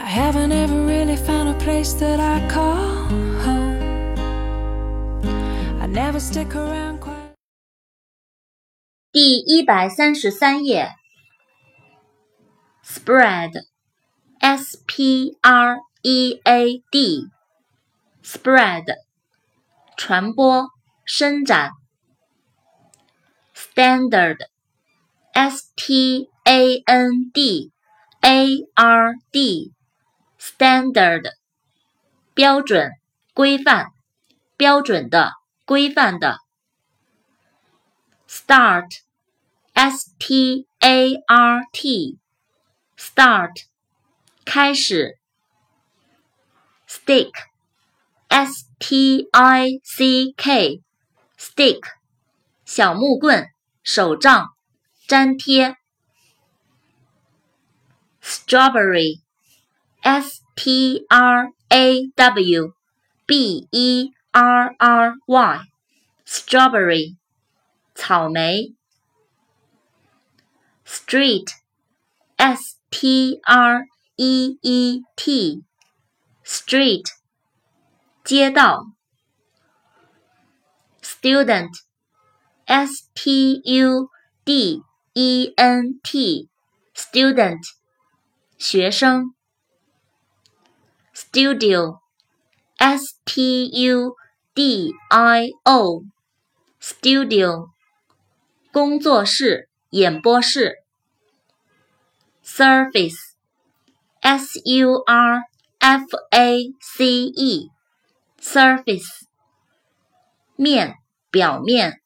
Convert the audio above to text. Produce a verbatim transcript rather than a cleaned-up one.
I haven't ever really found a place that I call home. I never stick around quite. 第一百三十三页 Spread S P R E A D Spread 传播伸展 Standard S T A N D A R D Standard 标准规范标准的规范的 Start S T A R T Start 开始 Stick S T I C K Stick 小木棍手杖粘贴 Strawberry S T R A W B E R R Y Strawberry 草莓 Street S T R E E T Street 街道 Student S T U D E N T Student 学生 Studio S T U D I O Studio 工作室演播室 Surface S U R F A C E Surface 面表面